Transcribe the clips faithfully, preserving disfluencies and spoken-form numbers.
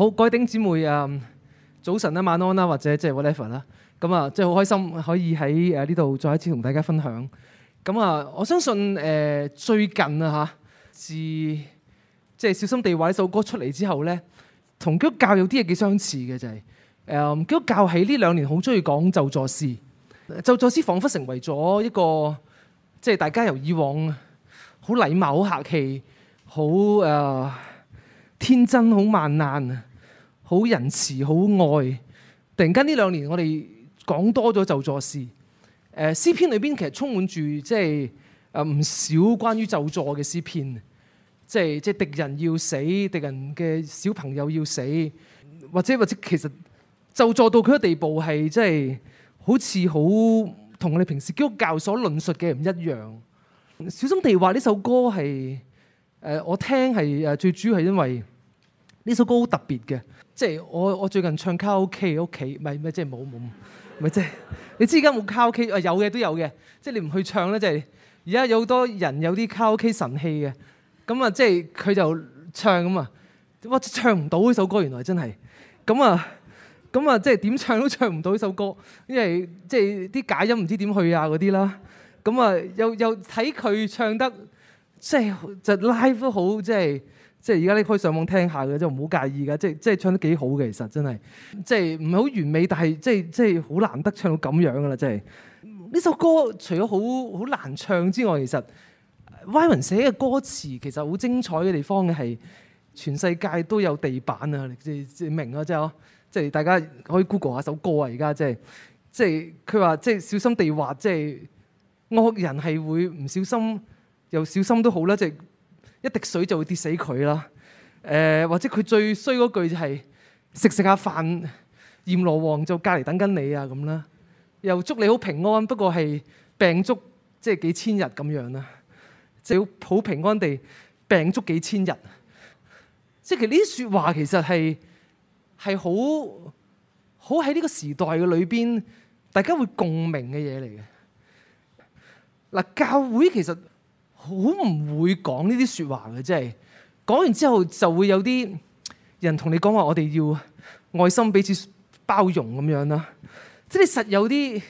好，各位弟兄姊妹啊，早晨啦、晚安啦，或者即係 whatever 啦，咁啊，即係好開心可以喺誒呢度再一次同大家分享。咁啊，我相信誒、呃、最近啊嚇，自即係小心地話呢首歌出嚟之後咧，同基督教有啲嘢幾相似嘅就係、是、誒、呃、基督教喺呢兩年好中意講咒詛詩，咒詛詩彷彿成為咗一個即係大家由以往好禮貌、好客氣、好誒、呃、天真、好萬難、好仁慈、好愛。突然間呢兩年，我哋講多咗咒詛詩。誒詩篇裏邊其實充滿住即係誒唔少關於咒詛嘅詩篇，即係即係敵人要死，敵人嘅小朋友要死，或者或者其實咒詛到佢嘅地步係即係好似好同我哋平時基督教所論述嘅唔一樣。小心地話呢首歌係誒、呃、我聽係誒最主要係因為呢首歌好特別嘅，即係我我最近唱卡拉 OK 屋企，唔係唔係即係冇冇，唔係即係你知而家冇卡拉 OK 啊，有嘅都有嘅，即係你唔去唱咧，即係而家有好多人有啲卡拉 OK 神器嘅，咁啊即係佢就唱咁啊，哇唱唔到呢首歌原來真係，咁啊咁啊即係點唱都唱唔到呢首歌，因為即係啲假音唔知點去啊嗰啲啦。咁啊，又又睇佢唱得，即係就 live 都好，即係即係而家你可以上網聽下嘅，即係唔好介意㗎，即係即係唱得幾好嘅，其實真係，即係唔係好完美，但係即係即係好難得唱到咁樣㗎啦，真係。呢首歌除咗好好難唱之外，其實 Wyman 寫嘅歌詞其實好精彩嘅地方嘅係，全世界都有地板啊，你即係明啊，即係即係大家可以 Google 下首歌啊，而家即係即係佢話即係小心地滑，即係。惡人係會唔小心又小心都好啦，即係一滴水就會跌死佢啦。誒、呃、或者佢最衰嗰句就係食食下飯，閻羅王就隔離等緊你啊咁啦。又祝你好平安，不過係病足即係幾千日咁樣啦。就要好平安地病足幾千日。即係其實呢啲説話其實係係好好喺呢個時代嘅裏邊，大家會共鳴嘅嘢嚟嘅。嗱，教會其實好唔會講呢啲説話嘅，即係講完之後就會有啲人同你講話，我哋要愛心彼此包容咁樣啦。即係你實有啲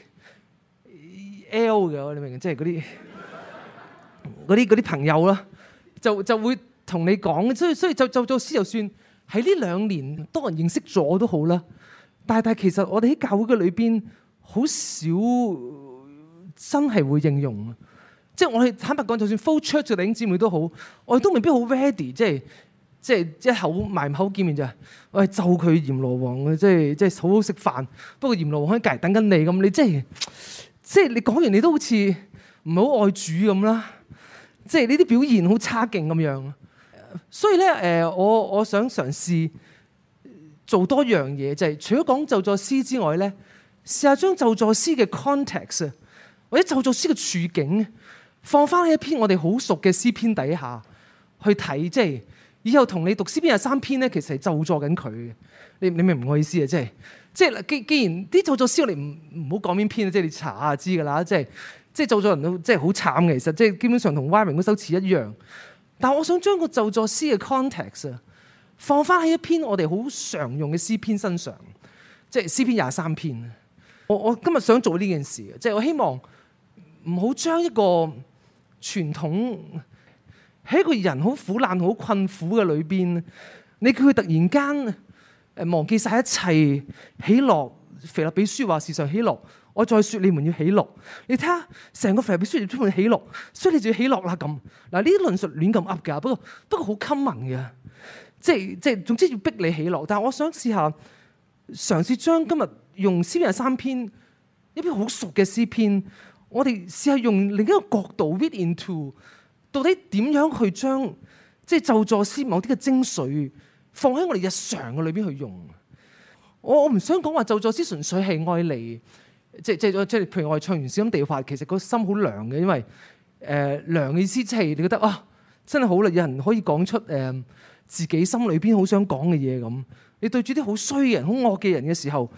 L 嘅，你明唔明？即係嗰啲嗰啲嗰啲朋友啦，就就會同你講，所以所以就就做詩，就算喺呢兩年多人認識咗都好啦。但係但係其實我哋喺教會嘅裏邊好少。真係會應用，即係我哋坦白講，就算 full church 嘅弟兄姊妹都好，我哋都未必好 ready， 即係即係一口埋口見面就係，我係咒佢閻羅王嘅，即係即係好好食飯。不過閻羅王喺隔離等緊你咁，你即係即係你講完你都好似唔係好愛主咁啦，即係呢啲表現好差勁咁樣。所以咧誒，我我想嘗試做多樣嘢，就係除咗講咒詛詩之外咧，試下將咒詛詩嘅 context。或者咒詛詩嘅處境放翻喺一篇我哋好熟嘅詩篇底下去睇，即係以後同你讀詩篇廿三篇咧，其實係咒詛緊佢嘅。你你明唔明我意思啊？即係即係既既然啲咒詛詩我哋唔唔好講邊篇啊，即係你查下知㗎啦。即係即係咒詛人都即係好慘嘅，其實即係基本上同 Wyman 嗰首詞一樣。但係我想將個咒詛詩嘅 context 啊放翻喺一篇我哋好常用嘅詩篇身上，即係詩篇廿三篇。我我今日想做呢件事嘅，即係我希望。唔好將一個傳統喺一個人好苦難、好困苦嘅裏邊，你叫佢突然間誒忘記晒一切喜樂。腓立比書話時常喜樂，我再説你們要喜樂。你睇下成個腓立比書充滿喜樂，所以你就要喜樂啦咁。嗱，呢啲論述亂咁噏㗎，不過不過好 common 嘅，即係即係總之要逼你喜樂。但係我想試下嘗試將今日用詩篇廿三篇一篇好熟嘅詩篇。我哋試下用另一個角度 read into， 到底點樣去將即係咒詛詩某啲嘅精髓放喺我哋日常嘅裏邊去用。我我唔想講話咒詛詩純粹係愛嚟，即係即係即係譬如我哋唱完小心地滑，其實個心好涼嘅，因為誒涼嘅意思即係你覺得啊真係好啦，有人可以講出誒、呃、自己心裏邊好想講嘅嘢咁。你對住啲好衰嘅人、好惡嘅人嘅時候，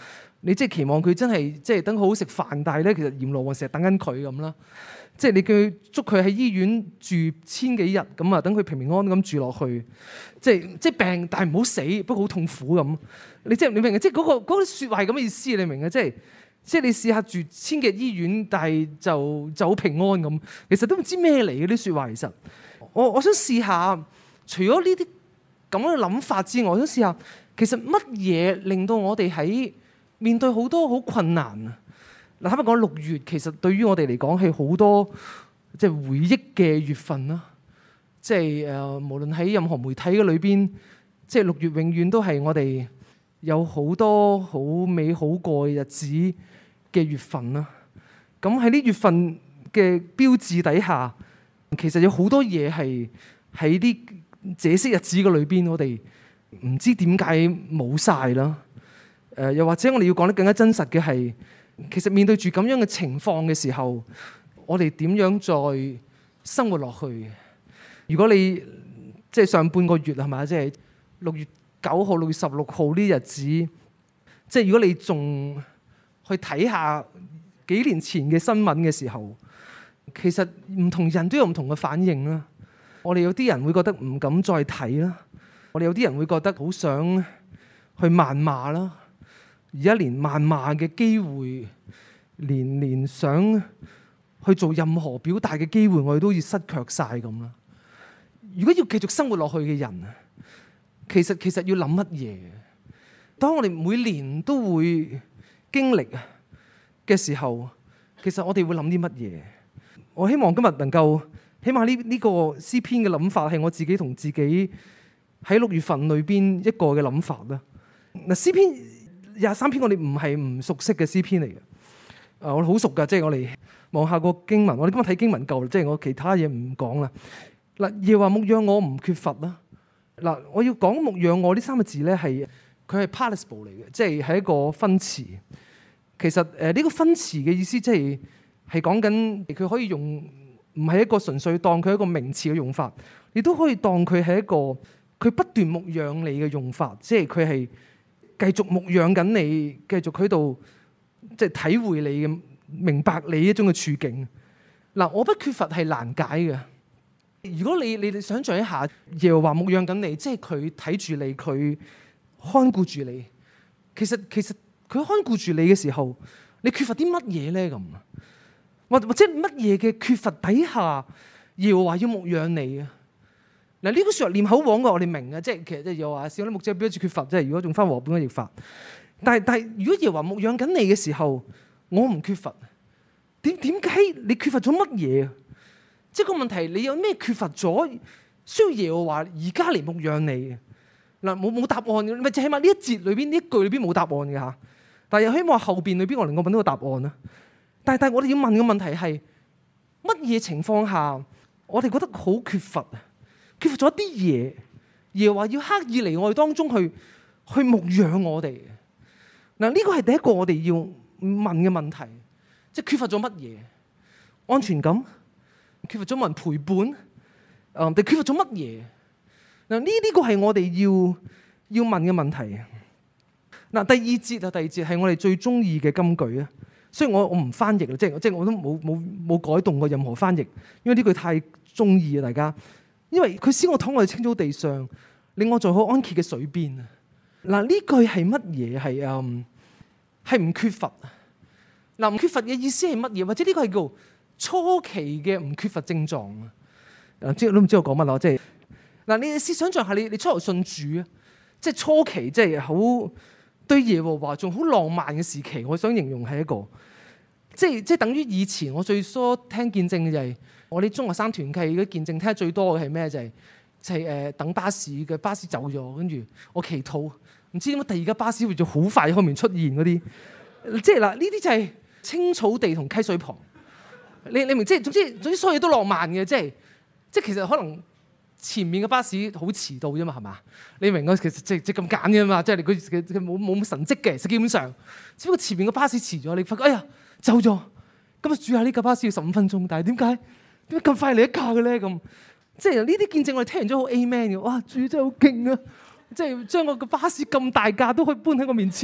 你即係期望佢真係即係等好好食飯，但係咧其實閻羅王成日等緊佢咁啦。即係你叫佢捉佢喺醫院住千幾日咁啊，等佢平平安安咁住落去。即係即係病，但係唔好死，不過好痛苦咁。你即係你明嘅，即係嗰個嗰啲説話係咁嘅意思，你明嘅？即係即係你試下住千幾日醫院，但係就就好平安咁。其實都唔知咩嚟嘅啲説話。其實我我想試下，除咗呢啲咁樣嘅諗法之外，我想試下其實乜嘢令到我哋喺面對好多好困難啊！嗱，坦白講，六月其實對於我哋嚟講係好多即係回憶嘅月份啦。即係誒，無論喺任何媒體嘅裏邊，即係六月永遠都係我哋有好多好美好過日子嘅月份啦。咁喺呢月份嘅標誌底下，其實有好多嘢係喺啲這些日子嘅裏邊，我哋唔知點解冇晒啦。誒，又或者我哋要講得更加真實嘅係，其實面對住咁樣嘅情況嘅時候，我哋點樣再生活落去？如果你即係上半個月係嘛，即係六月九號、六月十六號呢日子，即係如果你仲去睇下幾年前嘅新聞嘅時候，其實唔同人都有唔同嘅反應啦。我哋有啲人會覺得唔敢再睇啦，我哋有啲人會覺得好想去謾罵啦。而家連謾罵嘅機會，連連想去做任何表達嘅機會，我哋都要失卻晒咁啦。如果要繼續生活落去嘅人，其實其實要諗乜嘢？當我哋每年都會經歷嘅時候，其實我哋會諗啲乜嘢？我希望今日能夠，起碼呢呢個詩篇嘅諗法係我自己同自己喺六月份裏邊一個嘅諗法啦。嗱，詩篇廿三篇我哋唔係唔熟悉嘅詩篇嚟嘅，啊，我哋好熟噶，即係我哋望下個經文，我哋今日睇經文夠啦，即係我其他嘢唔講啦。嗱，耶和華牧養我唔缺乏啦。嗱，我要講牧養我呢三個字咧，係佢係 participle 嚟嘅，即係係一個分詞。其實誒呢個分詞嘅意思，即係係講緊佢可以用，唔係一個純粹當佢係一個名詞嘅用法，亦都可以當佢係一個佢不斷牧養你嘅用法，即係佢係繼續牧養緊你，繼續喺度即係體會你嘅，明白你一種嘅處境。嗱，我不缺乏係難解嘅。如果你你你想象一下，耶和華牧養緊你，即係佢睇住你，佢看顧住你。其實其實佢看顧住你嘅時候，你缺乏啲乜嘢咧？咁或或者乜嘢嘅缺乏底下，耶和華要牧養你啊？嗱，呢個說話念口簧嘅，我哋明嘅，即係其實即係又話少啲牧者表示缺乏，即係如果用翻和本嘅譯法。但係但係，如果耶和華牧養緊你嘅時候，我唔缺乏，點點解你缺乏咗乜嘢？即係個問題，你有咩缺乏咗，需要耶和華而家嚟牧養你？嗱，冇冇答案嘅，咪就起碼呢一節裏邊呢一句裏邊冇答案嘅嚇。但係又希望後邊裏邊我能夠揾到個答案啦。但係但係我哋要問嘅問題係乜嘢情況下我哋覺得好缺乏啊？缺乏咗一啲嘢，耶和華要刻意嚟我哋當中去去牧養我哋。嗱，呢個係第一個我哋要問嘅問題，即係缺乏咗乜嘢？安全感？缺乏咗冇人陪伴？誒，定缺乏咗乜嘢？嗱，呢呢個係我哋要要問嘅問題。嗱，第二節啊，第二節係我哋最中意嘅金句啊。雖然我我唔翻譯啦，即係即係我都冇冇冇改動過任何翻譯，因為呢句太中意啊，大家。因為佢使我躺喺青草地上，令我在可安歇嘅水邊啊。嗱，呢句係乜嘢？係誒係唔缺乏啊。嗱，唔缺乏嘅意思係乜嘢？或者呢個係叫初期嘅唔缺乏症狀啊？誒，知都唔知我講乜啦？即係嗱，你試想像下，你你初頭信主啊，即係初期，即係好對耶和華仲好浪漫嘅時期。我想形容係一個，即係即係等於以前我最初聽見證嘅就係我哋中學生團契嘅見證聽得最多嘅係咩？就係就係誒等巴士嘅巴士走咗，跟住我祈禱，唔知點解第二架巴士會就好快喺後面出現嗰啲，即係嗱呢啲就係青草地同溪水旁。你你明，即係總之總之所有嘢都浪漫嘅，即係即係其實可能前面嘅巴士好遲到啫嘛，係嘛？你明啊？其實即即咁揀嘅嘛，即係佢佢冇冇乜神蹟嘅，其實基本上只不過前面嘅巴士遲咗，你發覺哎呀走咗，咁啊主下呢架巴士要十五分鐘，但係點解點解咁快嚟一架嘅咧？咁即係呢啲見證我哋聽完咗好 amen 嘅，哇主真係好勁啊！即係將我個巴士咁大架都可以搬喺我面前，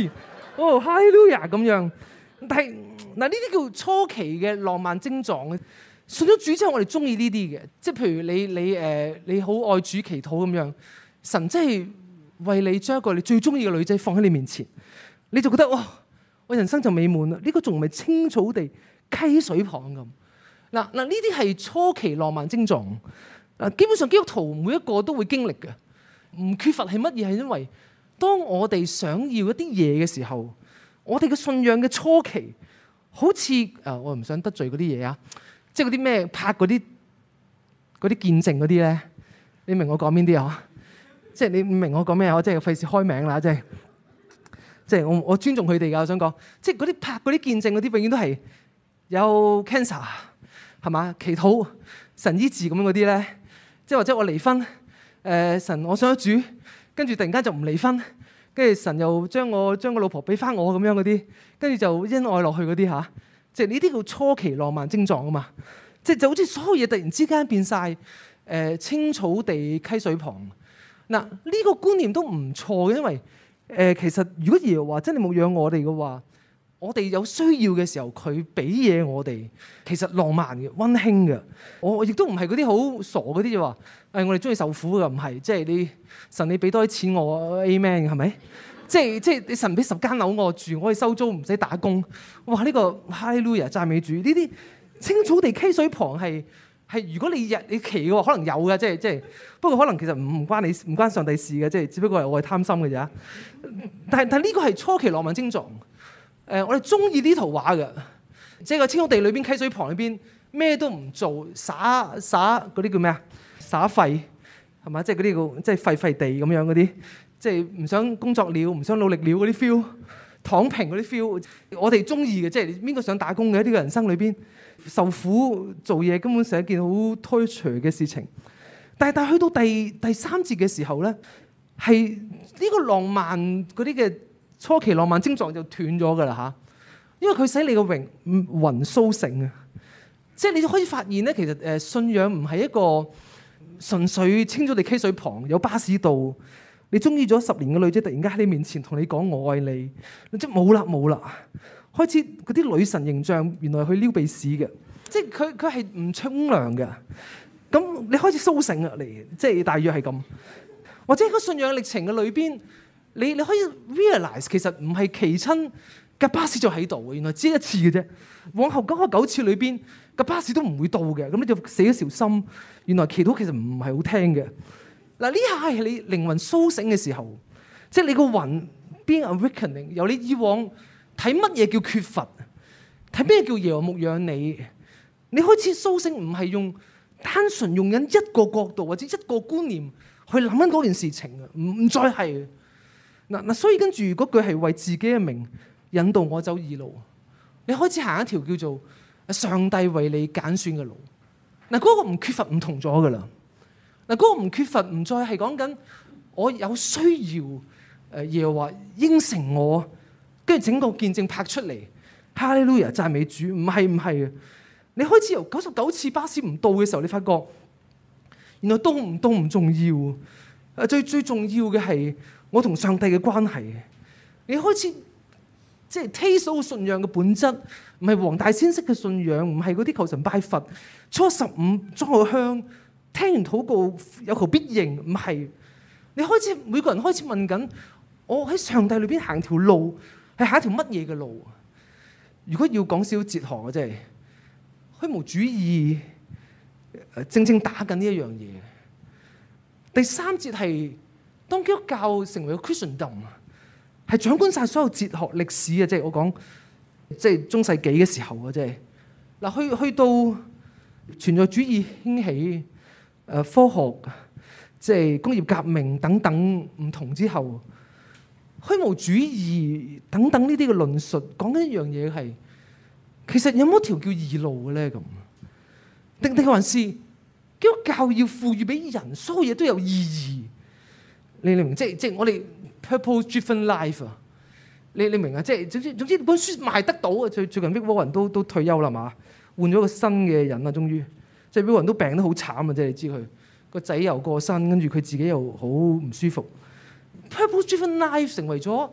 哦，哈利路亞咁樣。但係嗱，呢啲叫初期嘅浪漫症狀。信咗主之後，我哋中意呢啲嘅，即係譬如你你誒、呃、你好愛主祈禱咁樣，神真係為你將一個你最中意嘅女仔放喺你面前，你就覺得哇，我人生就美滿啦！呢、這個仲唔係青草地溪水旁咁？嗱嗱，呢啲係初期浪漫症狀。嗱，基本上基督徒每一個都會經歷嘅，唔缺乏係乜嘢？係因為當我哋想要一啲嘢嘅時候，我哋嘅信仰嘅初期，好似啊，我唔想得罪嗰啲嘢啊。即係嗰啲咩拍嗰啲嗰啲見證嗰啲咧，你明我講邊啲啊？即係你唔明我講咩啊？我即係費事開名啦，即係即係我我尊重佢哋㗎。我想講，即係嗰啲拍嗰啲見證嗰啲，永遠都係有 cancer 係嘛？祈禱神醫治咁樣嗰啲咧，即係或者我離婚，誒、呃、神我想咗主，跟住突然間就唔離婚，跟住神又將我將個老婆俾翻我咁樣嗰啲，跟住就恩愛落去嗰啲嚇。即係呢啲叫初期浪漫症狀啊嘛，即係就好似所有嘢突然之間變晒誒、呃、青草地溪水旁。嗱，呢個觀念都唔錯嘅，因為誒、呃、其實如果耶和華真係牧養我哋嘅話，我哋有需要嘅時候佢俾嘢我哋，其實浪漫嘅、溫馨嘅。我亦都唔係嗰啲好傻嗰啲就話誒我哋中意受苦嘅，唔係，即係你神你俾多啲錢我 Amen 係咪？即係即係你神俾十間樓我住，我可以收租唔使打工。哇！呢、這個哈利路亞讚美主，呢啲青草地溪水旁係係如果你日你祈嘅話，可能有嘅，即係即係。不過可能其實唔唔關你唔關上帝事嘅，即係只不過係我係貪心嘅咋。但係但係呢個係初期浪漫症狀。誒、呃，我哋中意呢圖畫嘅，即係個青草地裏邊溪水旁裏邊咩都唔做，灑灑嗰啲叫咩啊？灑廢係嘛？即係嗰啲叫即係廢廢地咁樣嗰啲。即係唔想工作了，唔想努力了嗰啲 feel，躺平嗰啲 feel，我哋中意嘅。即係邊個想打工嘅？呢個人生裏邊受苦做嘢根本係一件好 torture 嘅事情。但係但係去到第第三節嘅時候咧，係呢個浪漫嗰啲嘅初期浪漫症狀就斷咗㗎啦嚇，因為佢使你個榮魂甦醒啊！即係你就可以發現咧，其實誒信仰唔係一個純粹青草地溪水旁有巴士道。你中意咗十年嘅女仔，突然間喺你面前同你講我愛你，即係冇啦冇啦。開始嗰啲女神形象，原來去撩鼻屎嘅，即係佢佢係唔沖涼嘅。咁你開始甦醒啊嚟，即係大約係咁。或者喺個信仰歷程嘅裏邊，你你可以 realize 其實唔係祈親架巴士就喺度，原來只係一次嘅啫。往後九十九次裏邊，架巴士都唔會到嘅。咁你就死咗條心，原來祈禱其實唔係好聽嘅。嗱，呢下係你靈魂甦醒嘅時候，即係你個魂 being awakening，由你以往睇乜嘢叫缺乏，睇咩叫耶和華牧養你，你開始甦醒，唔係用單純用緊一個角度或者一個觀念去諗緊嗰件事情啊，唔唔再係嗱嗱，所以跟住嗰句係為自己嘅名引導我走義路，你開始行一條叫做上帝為你揀選嘅路，嗱、那、嗰個唔缺乏唔同咗噶啦。嗱，嗰個唔缺乏，唔再係講緊我有需要，誒耶和華應承我，跟住整個見證拍出嚟，哈利路亞讚美主，唔係唔係啊！你開始由九十九次巴士唔到嘅時候，你發覺原來到唔到唔重要，誒最最重要嘅係我同上帝嘅關係。你開始即係 taste 到信仰嘅本質，唔係黃大仙式嘅信仰，唔係嗰啲求神拜佛，初十五裝個香。聽完禱告有求必應，唔係你開始每個人開始問緊，我喺上帝裏邊行條路係行一條乜嘢嘅路？如果要講少少哲學嘅，即係虛無主義，正正打緊呢一樣嘢。第三節係當基督教成為個 Christendom，係掌管晒所有哲學歷史啊！即係我講即係中世紀嘅時候啊！即係嗱，去去到存在主義興起。誒科學即係工業革命等等唔同之後，虛無主義等等呢啲嘅論述講緊一樣嘢係，其實有冇一條叫義路嘅咧？咁定定還是基督教要賦予俾人所有嘢都有意義？你你明？即係即係我哋 purpose-driven life 啊！你你明啊？即係總之總之本書賣得到啊！最最近 Rick Warren 都都退休啦嘛，換咗個新嘅人啦，終於。即係每個人都病得好慘啊！即係你知佢個仔又過身，跟住佢自己又好唔舒服。Purpose-driven life 成為咗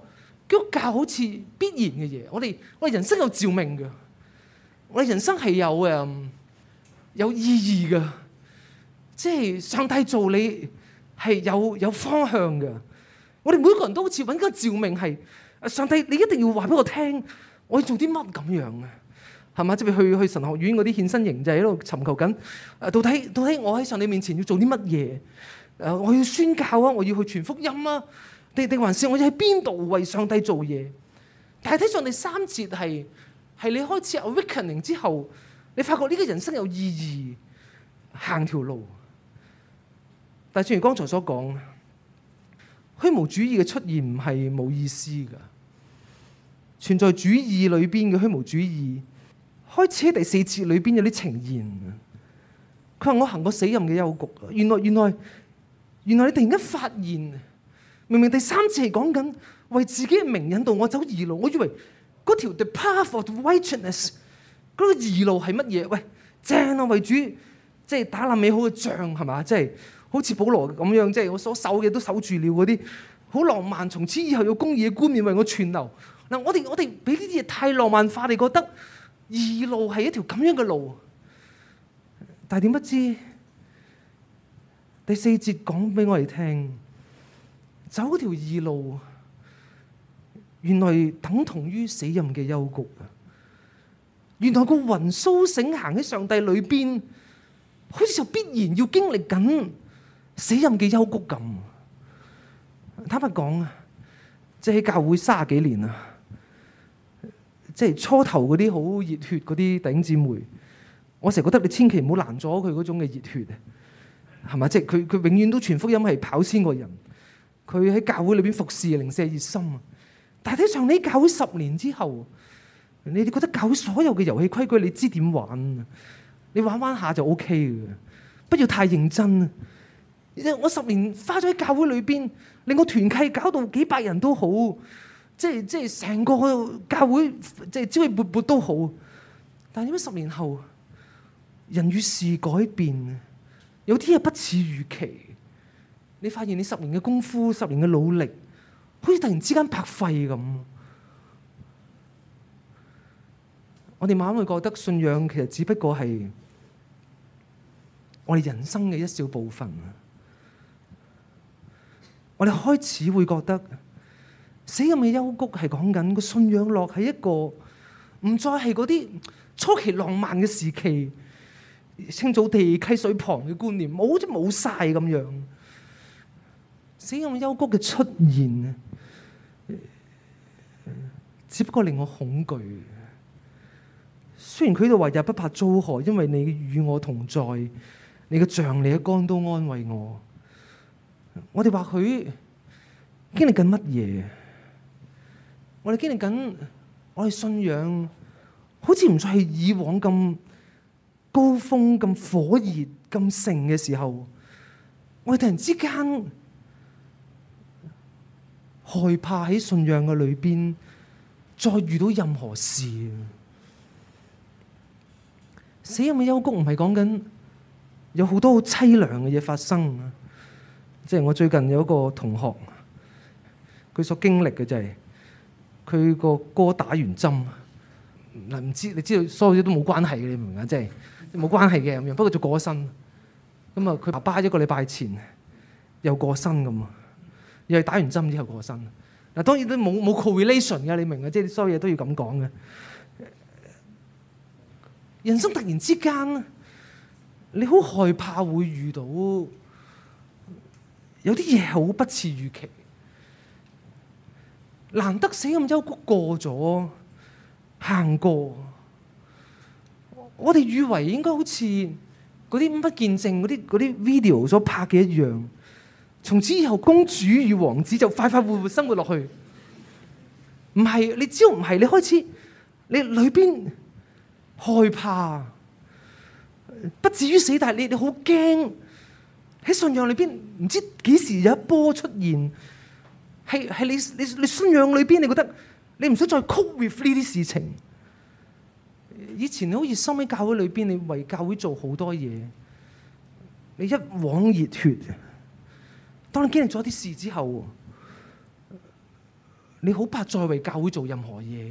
基督教好似必然嘅嘢，我哋我哋人生有召命嘅，我哋人生係有誒有意義嘅，即係上帝做你係有有方向嘅。我哋每個人都好似揾個召命係，上帝你一定要話俾我聽，我要做啲乜咁樣嘅，係嘛？即係去去神學院嗰啲獻身營就係喺度尋求緊，誒到底到底我喺上帝面前要做啲乜嘢？誒我要宣教啊，我要去傳福音啊，定定還是我要喺邊度為上帝做嘢？但係睇上第三節係係你開始 awakening 之後，你發覺呢個人生有意義，行條路。但係正如剛才所講，虛無主義嘅出現唔係冇意思㗎。存在主義裏邊嘅虛無主義，開始喺第四節裏邊有啲呈現。佢話我行過死蔭嘅幽谷，原來原來原來你突然間發現，明明第三節係講緊為自己嘅名引導我走義路，我以為嗰條 the path of righteousness 嗰個義路係乜嘢？喂，正啊，為主即係打爛美好嘅仗係嘛？即係。好似保羅咁樣，即係我所守嘅都守住了嗰啲好浪漫，從此以後有公義嘅冠冕為我存留。嗱，我哋我哋俾呢啲嘢太浪漫化，你覺得義路係一條咁樣嘅路，但係點不知第四節講俾我哋聽，走條義路原來等同於死蔭嘅幽谷啊！原來個魂甦醒行喺上帝裏邊，好似就必然要經歷緊死蔭嘅幽谷咁。坦白講啊，即係喺教會三十幾年啊，即係初頭嗰啲好熱血嗰啲弟兄姊妹，我成日覺得你千祈唔好攔阻佢嗰種嘅熱血啊，係嘛？即係佢佢永遠都傳福音係跑先過人，佢喺教會裏邊服侍零舍熱心啊。但係睇上你教會十年之後，你哋覺得教會所有嘅遊戲規矩你知點玩？你玩玩下就 O K 嘅，不要太認真。我十年花咗喺教會裏邊，令我團契搞到幾百人都好，即係即係成個教會即係朝氣勃勃都好。但係點解十年後人與事改變，有啲嘢不似預期？你發現你十年嘅功夫、十年嘅努力，好似突然之間白費咁。我哋慢慢會覺得信仰其實只不過係我哋人生嘅一小部分。我哋開始會覺得死蔭嘅幽谷係講緊個信仰落喺一個唔再係嗰啲初期浪漫嘅時期，青草地溪水旁嘅觀念，冇即冇晒咁樣。死蔭嘅幽谷嘅出現，只不過令我恐懼。雖然佢度話日不怕遭害，因為你與我同在，你嘅杖、你嘅竿都安慰我。我哋或許經歷緊乜嘢？我哋經歷緊，我哋信仰好似唔再係以往咁高峰、咁火熱、咁盛嘅時候，我哋突然之間害怕喺信仰嘅裏邊再遇到任何事。死蔭嘅幽谷唔係講緊有好多好淒涼嘅嘢發生。即係我最近有一個同學，佢所經歷嘅就係佢個哥打完針，嗱唔知你知道所有嘢都冇關係嘅，你明唔明啊？即係冇關係嘅咁樣，不過就過咗身。咁啊，佢爸爸一個禮拜前又過身咁啊，又係打完針之後過身。嗱當然都冇冇 correlation 嘅，你明啊？即係所有嘢都要咁講嘅。人生突然之間，你好害怕會遇到有啲嘢好不似預期，難得死蔭幽谷過咗，行過，我哋以為應該好似嗰啲不見證嗰啲嗰啲 video 所拍嘅一樣，從此以後公主與王子就快快活活生活落去。唔係，你只要唔係，你開始你裏邊害怕，不至於死，但係你你好驚。喺信仰裏邊，唔知幾時有一波出現，係係你你你信仰裏邊，你覺得你唔想再 cope with 呢啲事情。以前你好熱心喺教會裏邊，你為教會做好多嘢，你一往熱血。當你經歷咗啲事之後， 你好怕再為教會做任何嘢。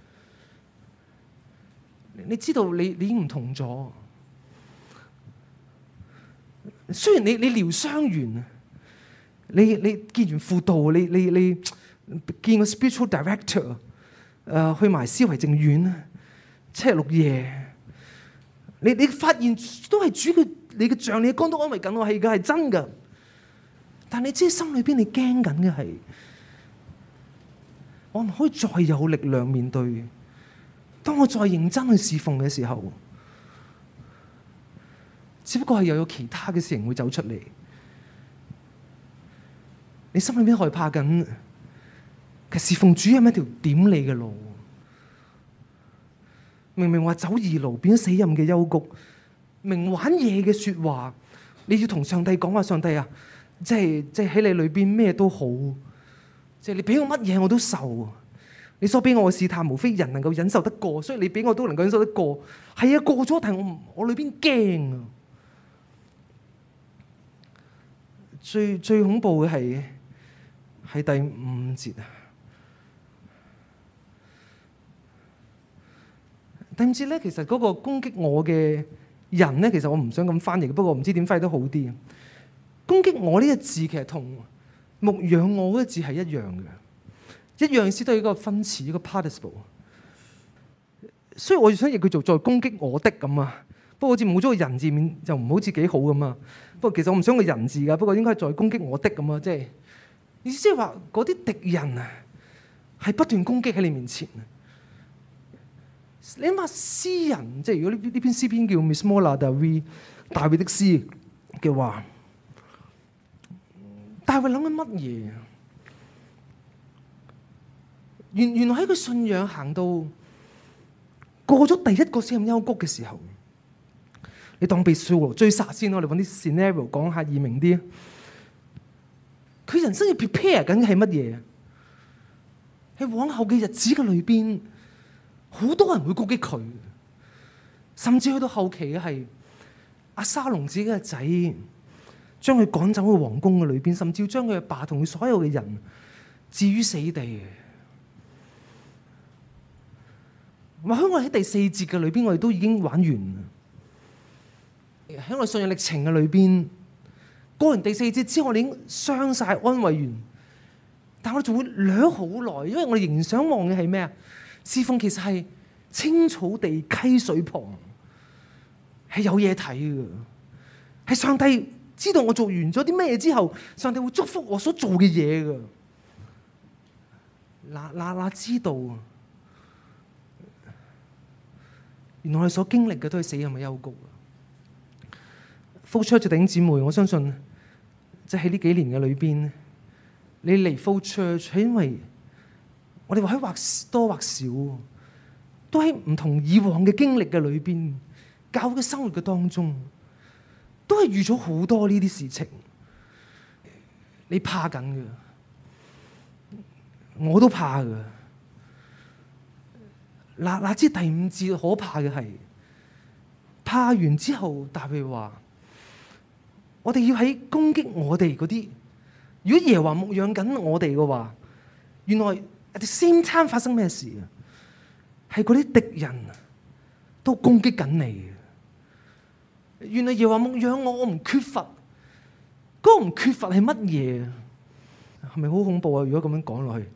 你知道你你已經唔同咗。雖然你你療傷完，你你見完輔導，你你你見個 spiritual director，誒、呃、去埋思維靜院，七日六夜，你你發現都係主嘅，你嘅杖、你嘅竿都安慰緊我，係嘅，係真嘅。但你知心裏邊你驚緊嘅係，我唔可以再有力量面對。當我再認真去侍奉嘅時候，只不過係又有其他嘅事情會走出嚟。你心裏邊害怕緊，其實侍奉主係一條點你嘅路。明明話走義路，變咗死蔭嘅幽谷。明玩嘢嘅說話，你要同上帝講話，上帝啊！即係即係喺你裏邊咩都好，即係你俾我乜嘢我都受。你所俾我嘅試探，無非人能夠忍受得過，所以你俾我都能夠忍受得過。係啊，過咗，但係我我裏邊驚啊！最最恐怖嘅係係第五節啊！第五節咧，其實嗰個攻擊我嘅人咧，其實我唔想咁翻譯，不過唔知點翻譯都好啲。攻擊我呢個字其實同牧養我嗰個字係一樣嘅，一樣意思都係一個分詞，一個 participle。所以我想譯佢做再攻擊我的咁啊，不過好似冇咗個人字面就唔好似幾好咁啊。不過其實我唔想個人字噶，不過應該係再攻擊我的咁啊，即係意思即係話嗰啲敵人啊係不斷攻擊喺你面前。你諗下詩人，即係如果呢呢篇詩篇叫 Mismola David 大衛的詩嘅話。大衛諗緊乜嘢？原原來喺佢信仰行到過咗第一個死蔭幽谷嘅時候，你當被掃羅追殺先，我哋揾啲 scenario 講下易明啲。佢人生要 prepare 緊嘅係乜嘢？喺往後嘅日子嘅裏邊，好多人會攻擊佢，甚至去到後期嘅係押沙龍自己嘅仔。將佢趕走去皇宮嘅裏邊，甚至要將佢阿爸同佢所有嘅人置於死地。或許我喺第四節嘅裏邊，我哋都已經玩完。喺我信仰歷程嘅裏邊，過完第四節之後，我哋已經傷晒、安慰完，但我哋仲會掠好耐，因為我哋仍然想望嘅係咩啊？侍奉其實係青草地溪水旁，係有嘢睇嘅，係上帝。知道我做完咗啲咩之後，上帝會祝福我所做嘅嘢㗎。嗱嗱嗱，知道原來我哋所經歷嘅都係死蔭嘅幽谷。flow church 嘅弟兄姊妹，我相信即係喺呢幾年嘅裏邊，你嚟 flow church 係因為我哋或許或多或少都喺唔同以往嘅經歷嘅裏邊，教會嘅生活嘅當中。都係預咗好多呢啲事情，你怕緊嘅，我都怕嘅。嗱嗱，知第五節可怕嘅係，怕完之後，大衛話：我哋要喺攻擊我哋嗰啲，如果耶和華牧養緊我哋嘅話，原來 at the same time 發生咩事啊？係嗰啲敵人都攻擊緊你。原來耶和華牧養我，我唔缺乏。嗰個唔缺乏係乜嘢？係咪好恐怖啊？如果咁樣講落去，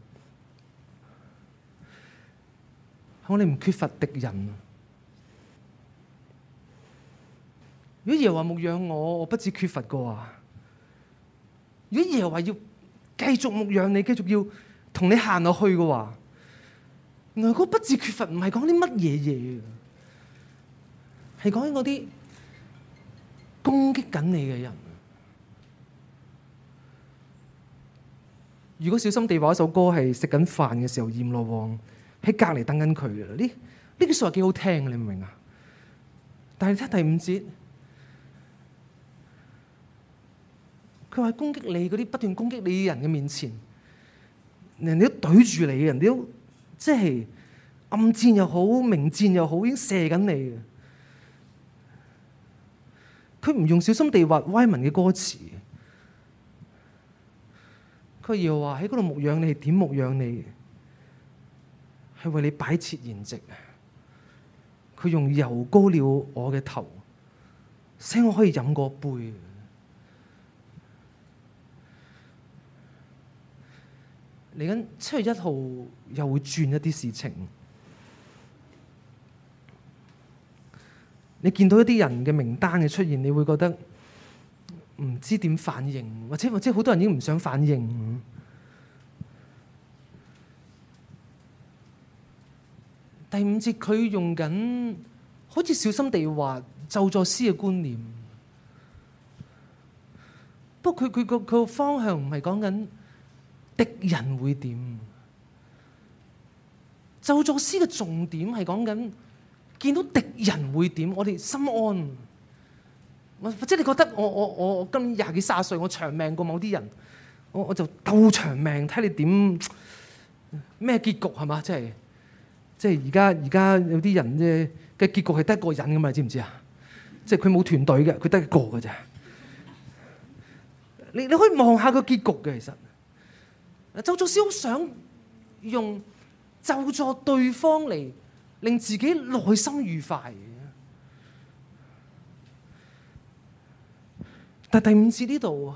我哋唔缺乏敵人。如果耶和華牧養我，我不至缺乏嘅話，如果耶和華要繼續牧養你，繼續要同你行落去嘅話，原來嗰不至缺乏唔係講啲乜嘢嘢，係講緊嗰啲攻擊緊你嘅人。如果小心地話一首歌係食緊飯嘅時候，閻羅王喺隔離等緊佢嘅，呢呢句說話幾好聽，你明唔明啊？但係睇第五節，佢話攻擊你嗰啲不斷攻擊你嘅人嘅面前，人哋都懟住你，人哋都即係暗箭又好，明箭又好，已經射緊你嘅。佢唔用小心地話歪文嘅歌詞，佢要話喺嗰度牧養你，係點牧養你？ 係為你擺設筵席，佢用油膏了我嘅頭，使我可以飲個杯。嚟緊七月一號又會轉一啲事情，你見到一啲人嘅名單嘅出現，你會覺得唔知點反應，或者或者好多人已經唔想反應。第五節佢用緊好似小心地話咒詛詩嘅觀念，不過佢佢個佢個方向唔係講緊敵人會點，咒詛詩嘅重點係講緊見到敵人會點，我哋心安。或者你覺得我我我今年廿幾卅歲，我長命過某啲人，我我就鬥長命，睇你點咩結局係嘛？即係即係而家而家有啲人嘅嘅結局係得一個人㗎嘛？你知唔知啊？即係佢冇團隊嘅，佢得一個㗎咋。你你可以望下個結局嘅，其實。咒詛詩好想用咒詛對方嚟令自己內心愉快，但第五節呢度，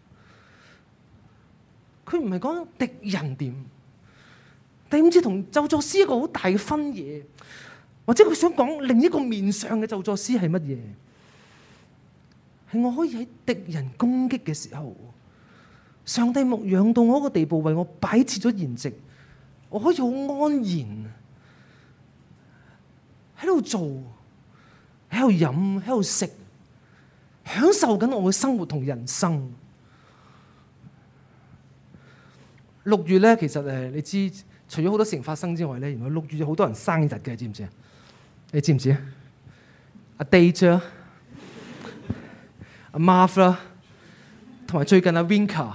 佢唔係講敵人點。第五節同咒詛詩一個好大嘅分野，或者佢想講另一個面向嘅咒詛詩係乜嘢？係我可以喺敵人攻擊嘅時候，上帝牧養到我一個地步，為我擺設咗筵席，我可以好安然喺度做，喺度飲，喺度食，享受緊我嘅生活同人生。六月咧，其實誒，你知除咗好多事情發生之外咧，原來六月有好多人生日嘅，知唔知啊？你知唔知啊？阿 Date 啊，阿 Marv 啦，同埋最近阿 Winka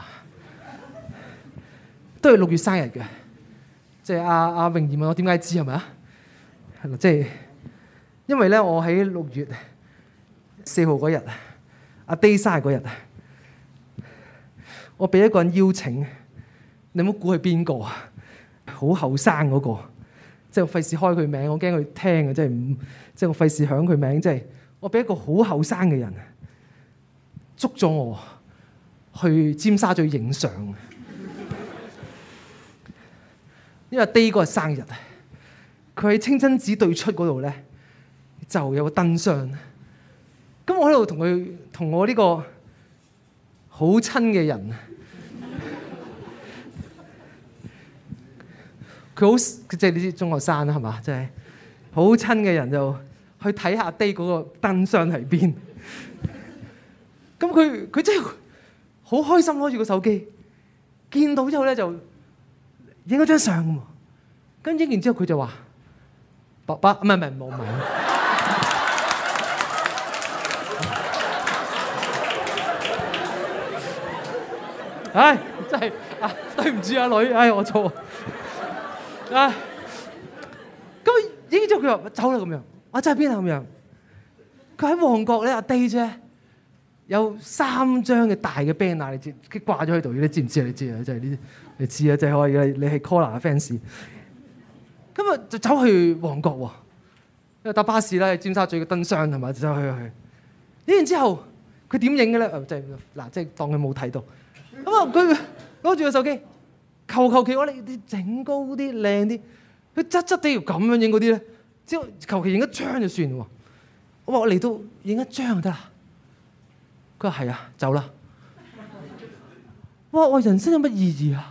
都係六月生日嘅。即係阿阿榮儀問我點解知係咪啊？係啦，即係因為咧，我喺六月四號嗰日，阿 Day 生日嗰日，我俾一個人邀請，你唔好估係邊個啊？好後生嗰個，即係我費事開佢名，我驚佢聽啊！即係唔，即係我費事響佢名，即係我俾一個好後生嘅人捉咗我去尖沙咀影相。因為 Day 嗰日生日，佢喺清真寺對出嗰度咧就有個燈箱。咁我喺度同佢同我呢個好親嘅人，佢好即係你知中學生啦係嘛？即係好親嘅人就去睇下 Day 嗰個燈箱喺邊。咁佢佢真係好開心，攞住個手機，見到之後咧就影咗張相喎，跟住影完之後佢就話：爸爸，唔係唔係冇問。唉，真係啊，對唔住啊女，唉我錯。啊，咁影完之後佢話走啦咁樣，我真係邊啊咁樣？佢喺旺角咧，阿 Day 啫，有三張嘅大嘅 banner，你知，佢掛咗喺度，你知唔知啊？你知啊，真係呢啲。你知啊，就係可以你係 Collar 嘅 fans。咁啊，就走去旺角喎，因為搭巴士啦，尖沙咀嘅燈箱係咪？就走去去。影完之後，佢點影嘅咧？即係嗱，即係當佢冇睇到。咁啊，佢攞住個手機，求求其我哋整高啲、靚啲。佢側側地要咁樣影嗰啲咧，之後求其影一張就算喎。我話我嚟到影一張就得啦。佢話係啊，走啦。哇！我人生有乜意義啊？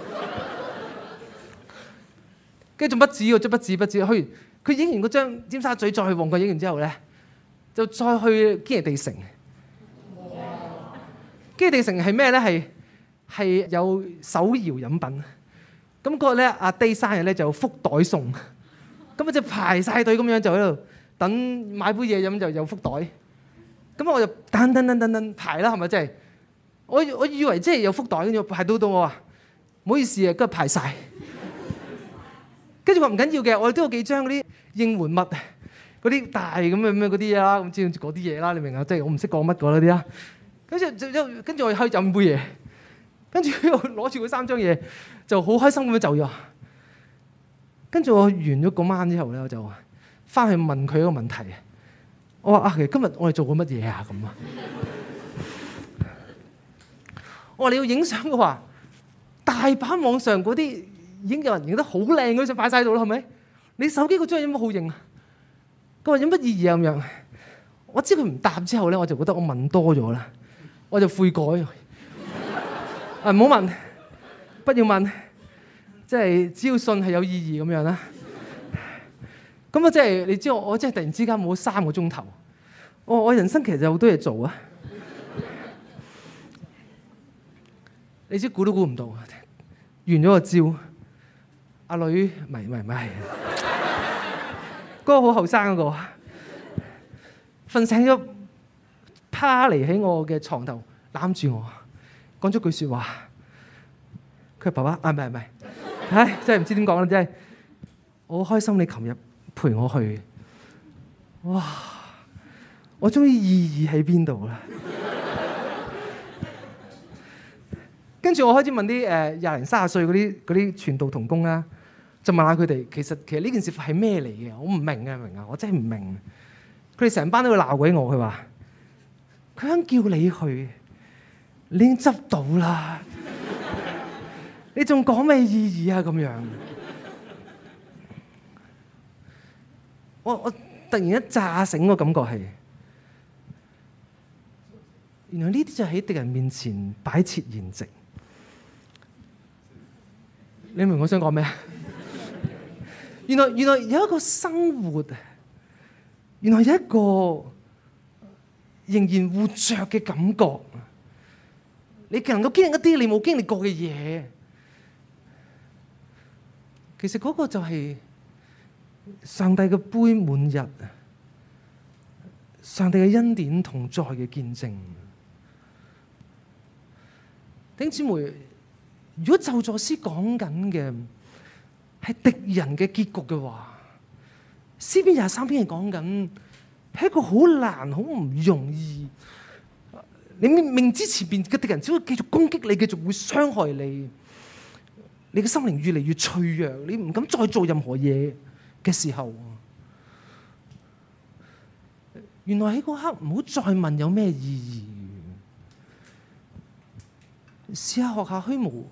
跟住仲不止喎，仲不止不止。去佢影完嗰張尖沙咀，再去旺角影完之後咧，就再去堅尼地城。堅尼地城係咩咧？係係有手搖飲品。咁嗰日咧，阿 Day 生日咧就有福袋送。咁啊就排晒隊咁樣就喺度等買杯嘢飲，就有福袋。咁我就等等等等等排啦，係咪真係？我我以為即係有福袋，跟住排到到我話唔好意思啊，跟住排晒。跟住我唔緊要嘅，我哋都有幾張嗰啲應援物，嗰啲大咁嘅咩嗰啲啦，咁知唔知嗰啲嘢啦？你明啊？即係我唔識講乜嗰啲啦。跟住就跟住我可以飲杯嘢，跟住又攞住嗰三張嘢，就好開心咁樣走咗。 跟住我完咗嗰晚之後咧，我就翻去問佢一個問題。我話啊，其實今日我哋做過乜嘢啊？咁啊，我話你要影相嘅話，大把網上嗰啲已經有人影得好靚嗰啲相擺晒喺度啦，係咪？你手機嗰張有乜好影啊？佢話有乜意義啊？咁樣，我知佢唔答之後咧，我就覺得我問多咗啦，我就悔改。啊，唔好問，不要問，即係只要信係有意義咁樣啦。咁啊，即係你知我，我即係突然之間冇咗三個鐘頭。我我人生其實有好多嘢做啊。你知估都估唔到，完咗個招，阿女唔係唔係唔係，嗰個好後生嗰個，瞓醒咗，趴嚟喺我嘅床頭攬住我，講咗句説話。佢話爸爸啊，唔係唔係，唉，真係唔知點講啦，真係我好開心你琴日陪我去，哇！我終於意義喺邊度啦？跟住我開始問啲誒廿零三十歲嗰啲嗰啲傳道同工啦，就問下佢哋，其實其實呢件事係咩嚟嘅？我唔明啊，明啊，我真係唔明。佢哋成班都會鬧鬼我，佢話佢想叫你去，你已經執到啦，你仲講咩意義啊？咁樣。我我突然一炸醒個感覺係，原來呢啲就喺敵人面前擺設筵席。你明我想講咩啊？原來原來有一個生活，原來有一個仍然活着嘅感覺。你能夠經歷一啲你冇經歷過嘅嘢，其實嗰個就係上帝嘅杯滿溢，上帝嘅恩典同在嘅見證。弟兄姊妹，如果咒詛詩講緊嘅係敵人嘅結局嘅話，詩篇廿三篇係講緊係一個好難、好唔容易。你明知前邊嘅敵人只會繼續攻擊你，繼續會傷害你，你嘅心靈越嚟越脆弱，你唔敢再做任何嘢嘅時候，原來喺嗰刻唔好再問有咩意義，試下學下虛無，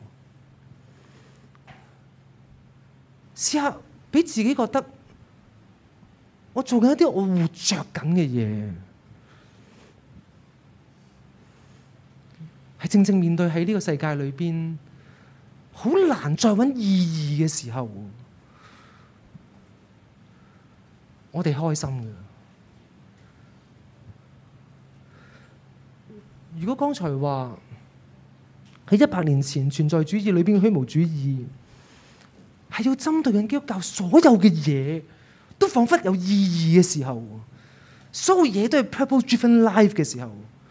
試下俾自己覺得我做緊一啲我活着緊嘅嘢，係正正面對喺呢個世界裏邊好難再揾意義嘅時候，我哋開心嘅。如果剛才話喺一百年前存在主義裏邊嘅虛無主義，係要針對緊基督教所有嘅嘢，都彷彿有意義嘅時候，所有嘢都係 purpose-driven life 嘅時候，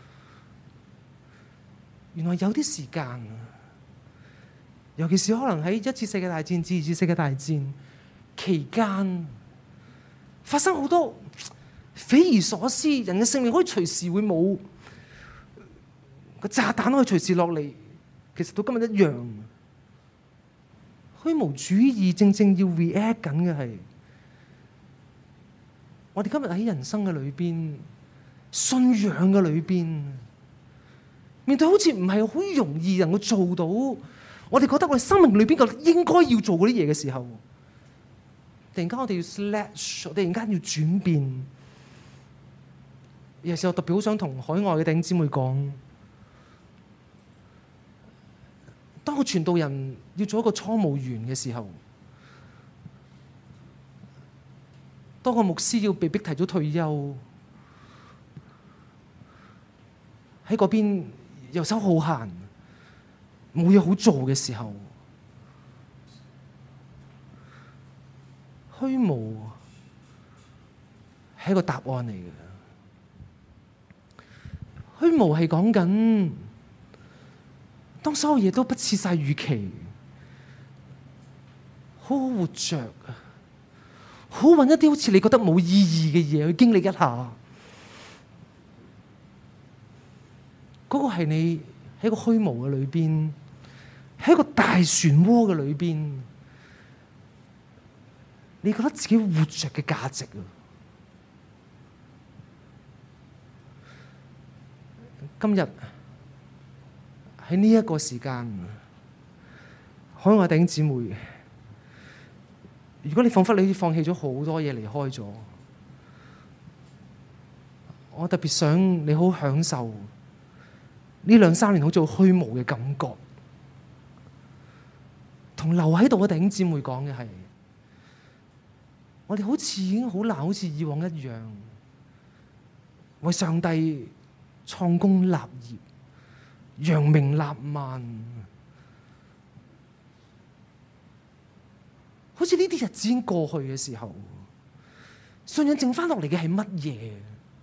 原來有啲時間，尤其是可能喺一次世界大戰至二次世界大戰期間，發生好多匪夷所思，人嘅性命可以隨時會冇，個炸彈可以隨時落嚟，其實到今日一樣。虛無主義正正要 react 緊嘅係，我哋今日喺人生嘅裏邊，信仰嘅裏邊，面對好似唔係好容易能夠做到，我哋覺得我哋生命裏邊個應該要做嗰啲嘢嘅時候，突然間我哋要 slash， 突然間要轉變。有時候特別好想同海外嘅弟兄姊妹講，當個傳道人要做一個倉務員嘅時候，當個牧師要被逼提早退休，喺嗰邊遊手好閒，冇嘢好做嘅時候，虛無係一個答案嚟嘅。虛無係講緊，當所有嘢都不似晒預期，好好活着，好揾一啲好似你覺得冇意義嘅嘢去經歷一下。嗰、那個係你喺個虛無嘅裏邊，喺一個大漩渦嘅裏邊， 你覺得自己活着嘅價值啊？今日喺呢一個時間，海外弟兄姊妹，如果你彷彿你放棄咗好多嘢離開咗，我特別想你好享受呢兩三年好似虛無嘅感覺。同留喺度嘅弟兄姊妹講嘅係，我哋好似已經好難，好似以往一樣，為上帝創功立業、揚名立萬。好似呢啲日子已經過去嘅時候，信仰剩翻落嚟嘅係乜嘢？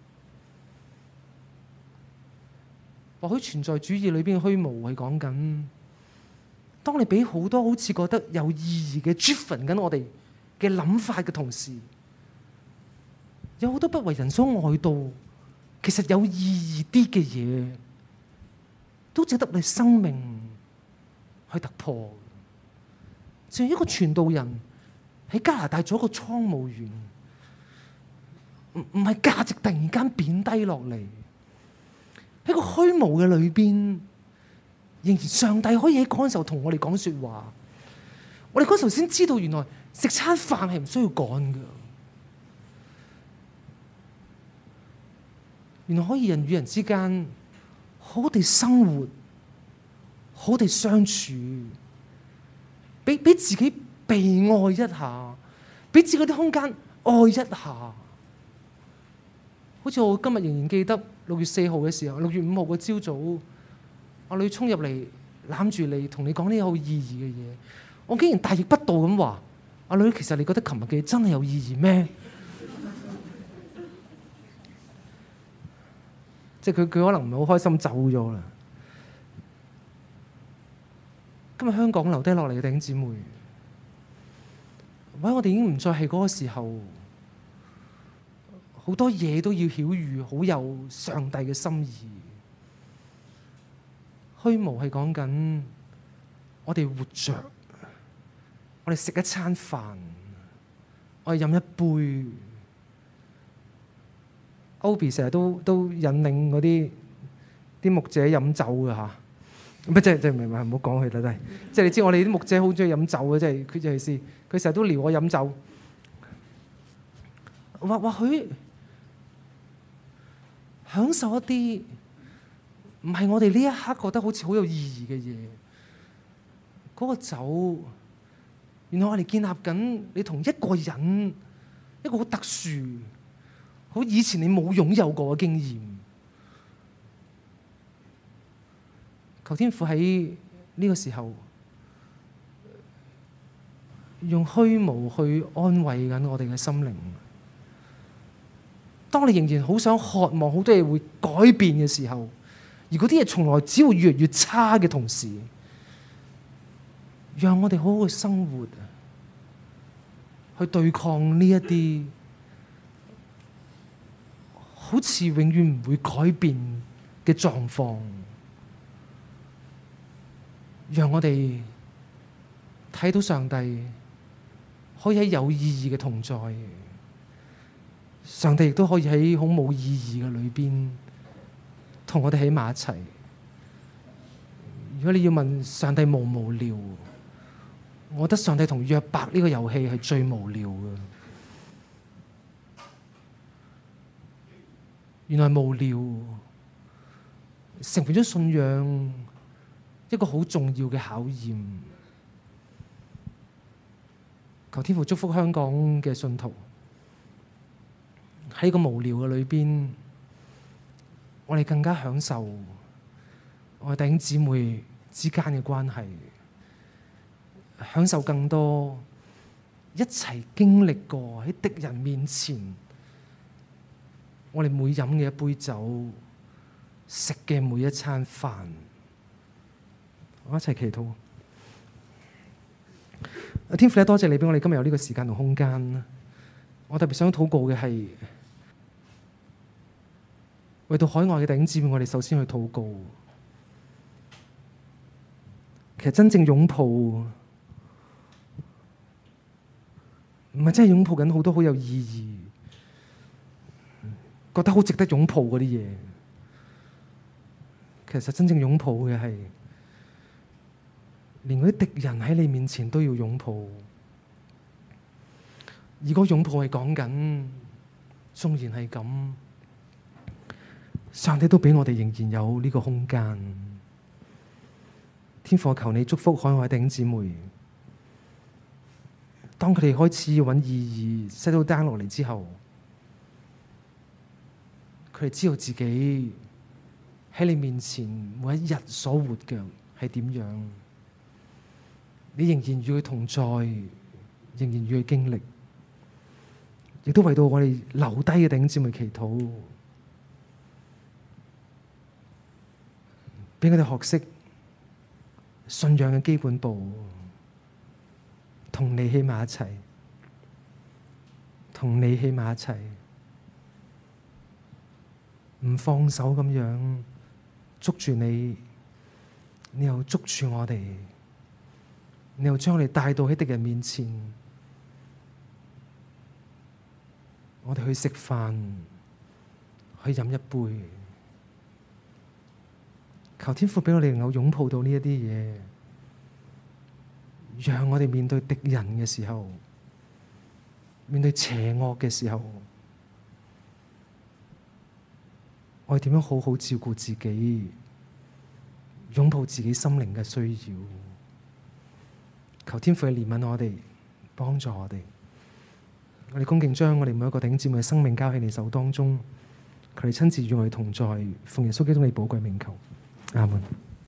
或許存在主義裏邊嘅虛無係講緊，當你俾好多好似覺得有意義嘅 driven 緊我哋嘅諗法嘅同時，有好多不為人所愛悼，其實有意義啲嘅嘢，都值得你生命去突破。就係一個傳道人喺加拿大做一個倉務員，唔唔係價值突然間貶低落嚟，喺個虛無嘅裏邊，仍然上帝可以喺嗰陣時候同我哋講說話。我哋嗰時候先知道，原來食餐飯係唔需要趕㗎，原來可以人與人之間好好地生活，好好地相處。俾俾自己被愛一下，俾自己啲空間愛一下。好似我今日仍然記得六月四號嘅時候，六月五號嘅朝早，阿女衝入嚟攬住你，同你講啲好意義嘅嘢。我竟然大逆不道咁話：阿女，其實你覺得琴日嘅嘢真係有意義咩？即係佢佢可能唔係好開心走咗啦。今日香港留低落嚟嘅弟兄姊妹，或者我哋已經唔再係嗰個時候，好多嘢都要曉喻，好有上帝嘅心意。虛無係講緊我哋活着，我哋食一餐飯，我哋飲一杯。Obi 成日都都引領嗰啲啲牧者飲酒㗎嚇。乜即係即係唔係唔好講佢啦，真係即係你知我哋啲牧者好中意飲酒嘅，即係佢就係試佢成日都撩我飲酒，或或許享受一啲唔係我哋呢一刻覺得好似好有意義嘅嘢。嗰個酒，原來我哋建立緊你同一個人一個好特殊、好以前你冇擁有過嘅經驗。求天父喺呢個時候用虛無去安慰緊我哋嘅心靈。當你仍然好想渴望好多嘢會改變嘅時候，而嗰啲嘢從來只會越嚟越差嘅同時，讓我哋好好去生活，去對抗呢一啲好似永遠唔會改變嘅狀況。讓我哋睇到上帝可以喺有意義嘅同在，上帝亦都可以喺好冇意義嘅裏邊同我哋喺埋一齊。如果你要問上帝無唔無聊，我覺得上帝同約伯呢個遊戲係最無聊嘅。原來無聊成為咗信仰一個好重要嘅考驗。求天父祝福香港嘅信徒喺個無聊嘅裏邊，我哋更加享受我哋弟兄姊妹之間嘅關係，享受更多一齊經歷過喺敵人面前，我哋每飲嘅一杯酒，食嘅每一餐飯。我一齊祈禱。天父咧，多謝你俾我哋今日有呢個時間同空間。我特別想禱告嘅係，為到海外嘅弟兄姊妹，我哋首先去禱告。其實真正擁抱，唔唔係真係擁抱緊好多好有意義、覺得好值得擁抱嗰啲嘢。其實真正擁抱嘅係，連嗰啲敵人喺你面前都要擁抱。而嗰擁抱係講緊，縱然係咁，上帝都俾我哋仍然有呢個空間。天父，求你祝福海外弟兄姊妹。當佢哋開始要揾意義 settle down 落嚟之後，佢哋知道自己喺你面前每一日所活嘅係點樣，你仍然與佢同在，仍然與佢經歷，亦都為到我哋留低嘅弟兄姊妹祈禱，俾佢哋學識信仰嘅基本步。同你喺埋一齊，同你喺埋一齊，唔放手咁樣捉住你，你又捉住我哋，你又將我哋帶到喺敵人面前，我哋去食飯，去飲一杯，求天父俾我哋能夠擁抱到呢一啲嘢。讓我哋面對敵人嘅時候，面對邪惡嘅時候，我哋點樣好好照顧自己，擁抱自己心靈嘅需要。求天父去憐憫我哋，幫助我哋。我哋恭敬將我哋每一個弟兄姊妹嘅生命交喺你手當中，佢哋親自與我哋同在，奉耶穌基督你寶貴名求，阿門。